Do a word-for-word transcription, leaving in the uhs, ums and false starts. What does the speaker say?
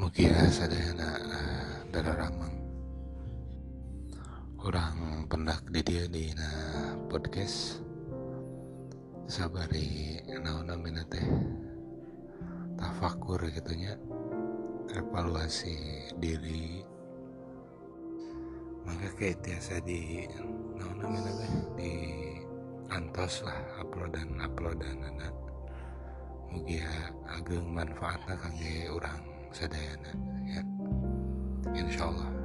Mugia sadayana dararamang urang pendak di dia di na podcast sabari naon namina teh tafakur gitunya, evaluasi diri. Maka kayak tiasa di naon namina teh di antos lah uploadan uploadan anak mugia ageng manfaatna kangge urang sadayana ya, insyaallah.